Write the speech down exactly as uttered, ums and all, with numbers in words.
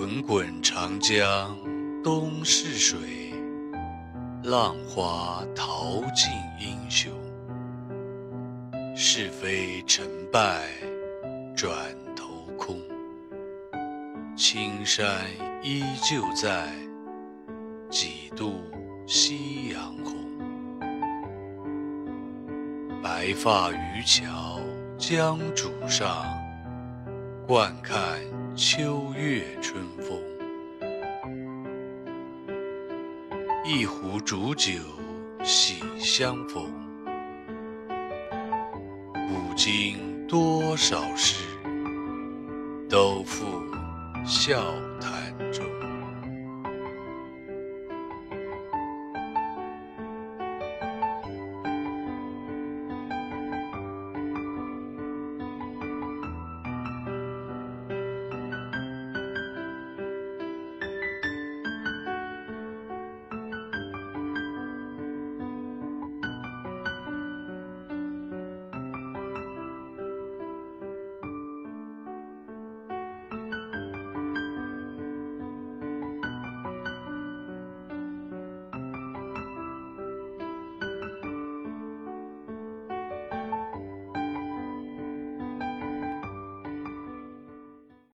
滚滚长江东逝水，浪花淘尽英雄。是非成败转头空，青山依旧在，几度夕阳红。白发渔樵江渚上，惯看秋月春风。一壶浊酒喜相逢，古今多少事，都付笑谈中。